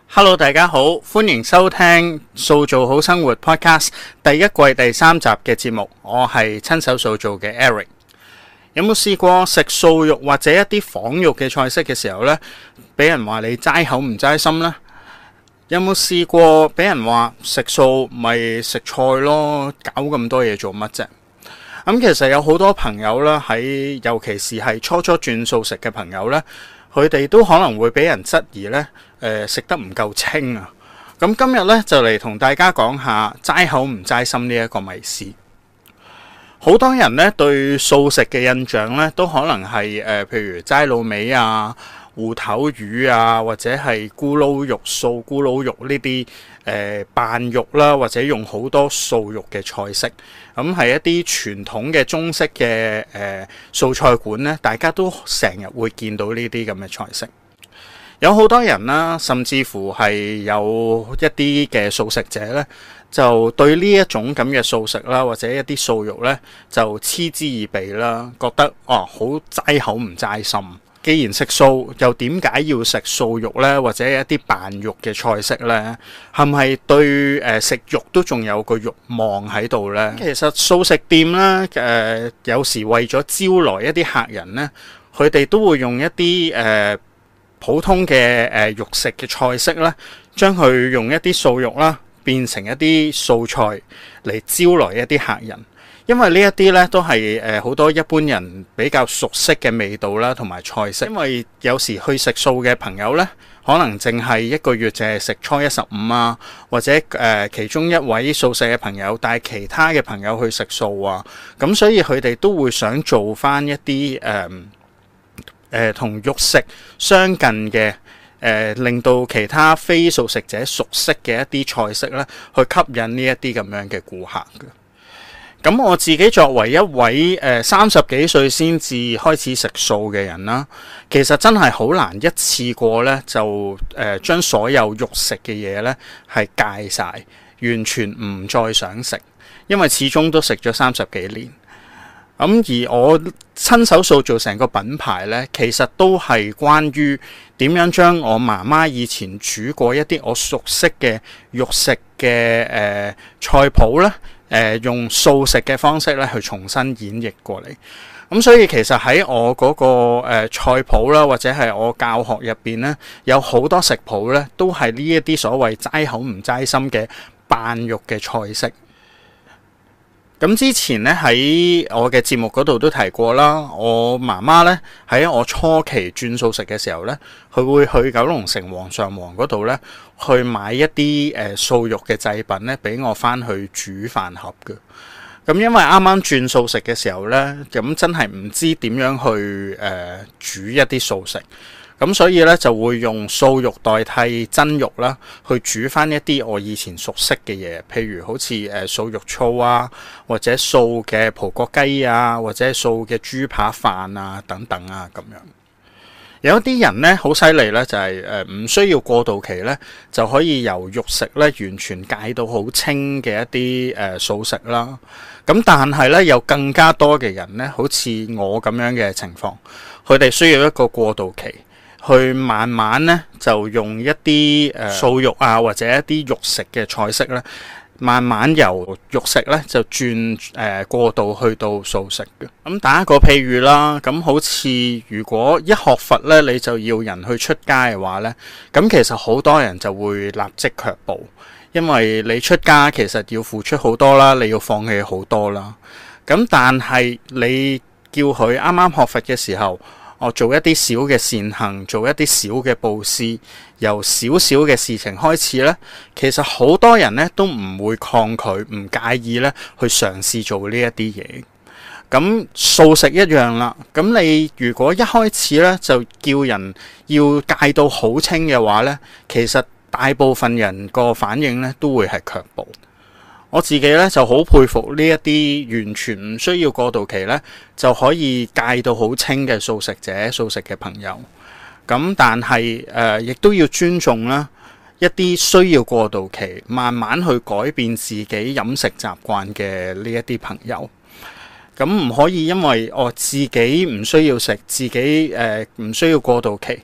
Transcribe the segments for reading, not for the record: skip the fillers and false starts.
Hello， 大家好，歡迎收聽塑造好生活 Podcast 第一季第3集嘅節目。我係親手塑造嘅 Eric。有冇試過食素肉或者一啲仿肉嘅菜式嘅時候呢，俾人話你齋口唔齋心呢？有冇試過俾人話食素咪食菜咯，搞咁多嘢做乜啫？其實有好多朋友啦，尤其是係初轉素食嘅朋友呢，佢哋都可能會俾人質疑呢，食得唔夠清啊！咁今日呢，就嚟同大家講下齋口唔齋心呢一個迷思。好多人呢對素食嘅印象呢，都可能係譬如齋滷味啊、芋頭魚啊，或者係咕嚕肉、素咕嚕肉呢啲扮肉啦，或者用好多素肉嘅菜式。咁係一啲傳統嘅中式嘅素菜館呢，大家都成日會見到呢啲咁嘅菜式。有好多人啦，甚至乎係有一啲嘅素食者呢，就對呢一種咁嘅素食啦，或者一啲素肉呢，就嗤之以鼻啦，覺得好齋口唔齋心。既然食素，又點解要食素肉呢？或者一啲扮肉嘅菜式呢？係咪對食肉都仲有個慾望喺度呢？其實素食店呢，有時為咗招來一啲客人呢，佢哋都會用一啲普通嘅肉食嘅菜式啦，將佢用一啲素肉啦變成一啲素菜嚟招來一啲客人。因為呢一啲咧都係好多一般人比較熟悉嘅味道啦，同埋菜式。因為有時去食素嘅朋友咧，可能淨係一個月淨係食初一十五啊，或者其中一位素食嘅朋友帶其他嘅朋友去食素啊，咁所以佢哋都會想做翻一啲同肉食相近嘅令到其他非素食者熟悉嘅一啲菜式咧，去吸引呢一啲咁樣嘅顧客嘅。咁我自己作為一位30幾歲先至開始食素嘅人啦，其實真係好難一次過咧就將所有肉食嘅嘢咧係戒晒，完全唔再想食，因為始終都食咗30幾年。而我親手塑造成個品牌呢，其實都係關於點樣將我媽媽以前煮過一啲我熟悉嘅肉食嘅菜譜呢，用素食嘅方式咧去重新演繹過嚟。咁所以其實喺我嗰個菜譜啦，或者係我教學入邊呢，有好多食譜呢，都係呢一啲所謂齋口唔齋心嘅扮肉嘅菜式。咁之前咧喺我嘅節目嗰度都提過啦，我媽媽咧喺我初期轉素食嘅時候咧，佢會去九龍城黃上皇嗰度咧去買一啲素肉嘅製品咧，俾我翻去煮飯盒嘅。咁因為啱啱轉素食嘅時候咧，咁真係唔知點樣去煮一啲素食。咁所以咧就會用素肉代替真肉啦，去煮翻一啲我以前熟悉嘅嘢，譬如好似素肉燥啊，或者素嘅葡國雞啊，或者素嘅豬扒飯啊等等啊咁樣。有一啲人咧好犀利咧，就係唔需要過渡期咧，就可以由肉食咧完全戒到好清嘅一啲素食啦。咁但係咧有更加多嘅人咧，好似我咁樣嘅情況，佢哋需要一個過渡期。去慢慢咧就用一啲素肉啊，或者一啲肉食嘅菜式咧，慢慢由肉食咧就轉過渡去到素食嘅。咁打一個譬如啦，咁好似如果一學佛咧，你就要人去出家嘅話咧，咁其實好多人就會立即卻步，因為你出家其實要付出好多啦，你要放棄好多啦。咁但係你叫佢啱啱學佛嘅時候，我做一啲小嘅善行，做一啲小嘅布施，由少少嘅事情開始呢，其實好多人呢都唔會抗拒，唔介意呢去嘗試做呢一啲嘢。咁素食一樣啦，咁你如果一開始呢就叫人要戒到好清嘅話呢，其實大部分人個反應呢都會係卻步。我自己咧就好佩服呢一啲完全唔需要過渡期咧就可以戒到好清嘅素食者、素食嘅朋友。咁但係亦都要尊重啦一啲需要過渡期慢慢去改變自己飲食習慣嘅呢一啲朋友。咁唔可以因為自己唔需要食，自己唔需要過渡期，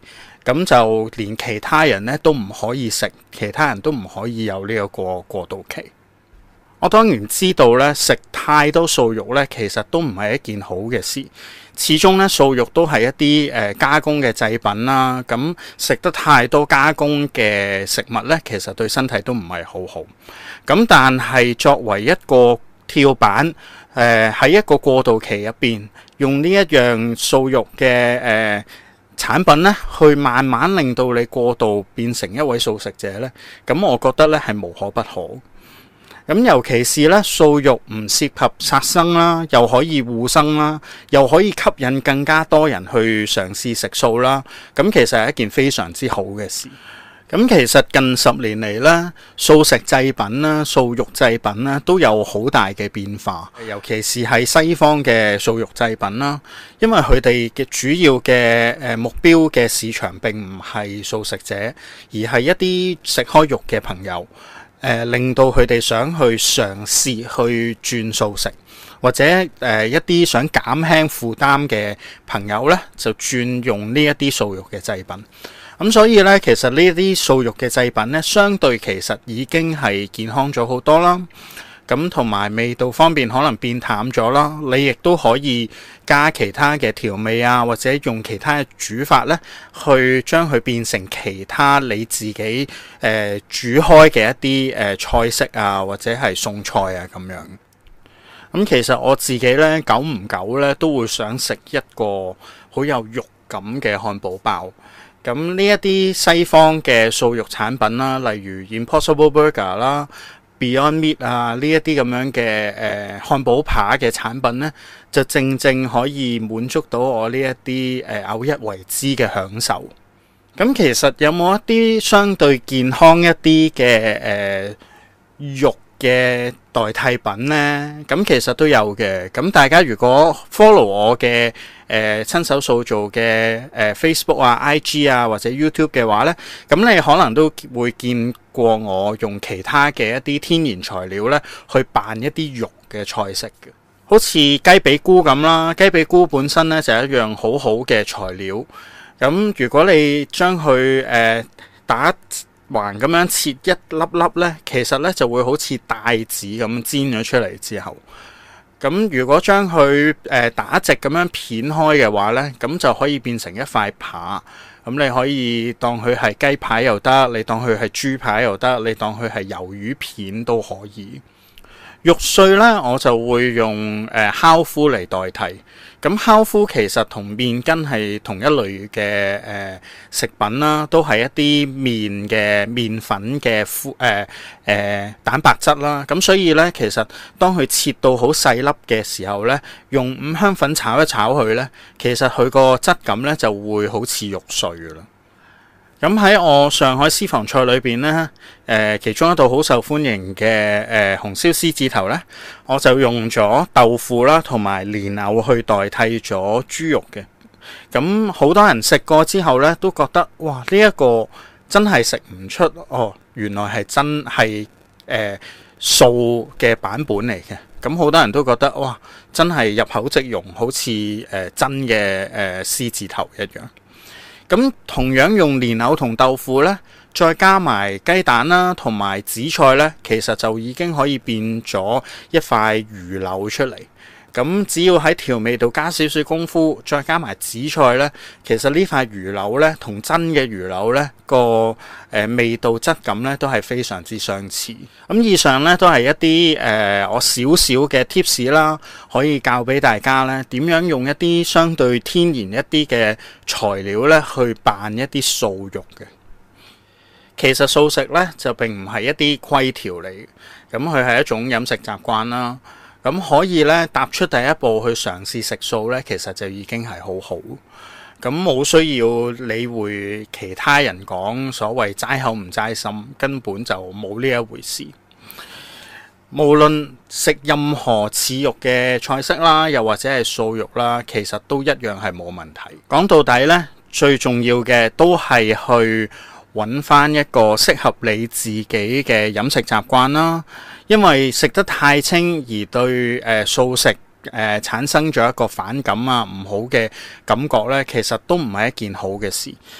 咁就連其他人咧都唔可以食，其他人都唔可以有呢個過渡期。我當然知道咧，食太多素肉咧，其實都唔係一件好嘅事。始終咧，素肉都係一啲加工嘅製品啦。咁食得太多加工嘅食物咧，其實對身體都唔係好好。咁但係作為一個跳板，喺一個過渡期入邊，用呢一樣素肉嘅產品咧，去慢慢令到你過渡變成一位素食者咧，咁我覺得咧係無可不可。咁尤其是咧，素肉唔涉及殺生啦，又可以護生啦，又可以吸引更加多人去嘗試食素啦。咁其實係一件非常之好嘅事。咁其實近10年嚟咧，素食製品啦、素肉製品啦，都有好大嘅變化。尤其是係西方嘅素肉製品啦，因為佢哋嘅主要嘅目標嘅市場並唔係素食者，而係一啲食開肉嘅朋友。令到佢哋想去嘗試去轉素食，或者一啲想減輕負擔嘅朋友呢，就轉用呢一啲素肉嘅製品。咁所以呢，其實呢啲素肉嘅製品呢，相對其實已經係健康咗好多啦。咁同埋味道方面可能變淡咗啦，你亦都可以加其他嘅調味啊，或者用其他嘅煮法咧，去將佢變成其他你自己煮開嘅一啲菜式啊，或者係餸菜啊咁樣。咁其實我自己咧，久唔久咧都會想食一個好有肉感嘅漢堡包。咁呢一啲西方嘅素肉產品啦，例如 Impossible Burger 啦、Beyond Meat 啊，呢一啲咁樣嘅漢堡扒嘅產品呢，就正正可以滿足到我呢一啲偶一為之嘅享受。咁其實有冇一啲相對健康一啲嘅肉嘅代替品呢？咁其實都有嘅。咁大家如果 follow 我嘅親手素造嘅Facebook 啊、IG 啊或者 YouTube 嘅話呢，咁你可能都會見過我用其他嘅一啲天然材料呢去扮一啲肉嘅菜式嘅，好似雞髀菇咁啦。雞髀菇本身呢就係一樣好好嘅材料。咁如果你將佢打橫咁樣切一粒粒呢，其實呢就會好似帶子咁煎咗出嚟之後，咁如果將佢打直咁樣片開嘅話呢，咁就可以變成一塊扒。咁你可以當佢係雞排又得，你當佢係豬排又得，你當佢係魷魚片都可以。肉碎呢，我就會用烤麩嚟代替。咁烤麩其實同麵筋係同一類嘅食品啦，都係一啲麵粉嘅蛋白質啦。咁所以呢，其實當佢切到好細粒嘅時候呢，用五香粉炒一炒佢呢，其實佢個質感呢就會好似肉碎㗎啦。咁喺我上海私房菜裏邊呢，其中一道好受歡迎嘅紅燒獅子頭呢，我就用咗豆腐啦同埋蓮藕去代替咗豬肉嘅。咁好多人食過之後呢，都覺得哇，呢一個真係食唔出哦，原來係真係素嘅版本嚟嘅。咁好多人都覺得哇，真係入口即溶，好似真嘅獅子頭一樣。咁同樣用蓮藕同豆腐呢，再加埋雞蛋啦，同埋紫菜呢，其實就已經可以變咗一塊魚柳出嚟。咁只要喺調味度加少少功夫，再加埋紫菜呢，其實呢塊魚柳呢，同真嘅魚柳呢個味道質感呢都係非常之相似。咁以上呢都係一啲我少少嘅 tips 啦，可以教俾大家呢點樣用一啲相對天然一啲嘅材料呢去扮一啲素肉嘅。其實素食呢就並唔係一啲規條嚟嘅，咁佢係一種飲食習慣啦。咁可以咧踏出第一步去嘗試食素咧，其實就已經係好好。咁冇需要理會其他人講所謂齋口唔齋心，根本就冇呢一回事。無論食任何似肉嘅菜式啦，又或者係素肉啦，其實都一樣係冇問題。講到底咧，最重要嘅都係去揾翻一個適合你自己嘅飲食習慣啦。因為食得太清而對素食產生咗一個反感啊，唔好嘅感覺呢，其實都唔係一件好嘅事。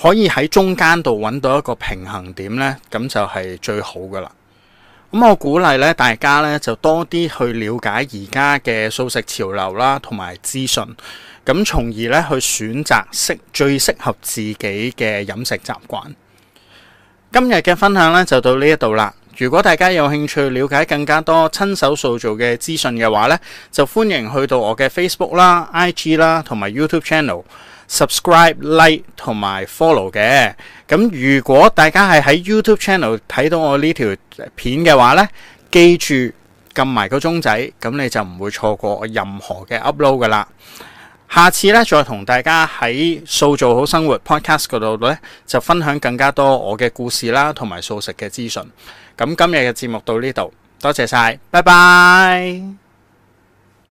可以喺中間度揾到一個平衡點呢，咁就係最好噶啦。咁我鼓勵咧大家咧就多啲去了解而家嘅素食潮流啦，同埋資訊，咁從而咧去選擇最適合自己嘅飲食習慣。今日嘅分享咧就到呢一度啦。如果大家有興趣了解更加多親手素造嘅資訊嘅話咧，就歡迎去到我嘅 Facebook 啦、IG 啦同埋 YouTube Channel。subscribe、like 同埋 follow 嘅。咁如果大家係喺 YouTube Channel 睇到我呢條片嘅話呢，記住撳埋個鐘仔，咁你就唔會錯過我任何嘅 upload 噶啦。下次呢，再同大家喺素造好生活 Podcast 嗰度呢，就分享更加多我嘅故事啦，同埋素食嘅資訊。咁今日嘅節目到呢度，多謝晒，拜拜。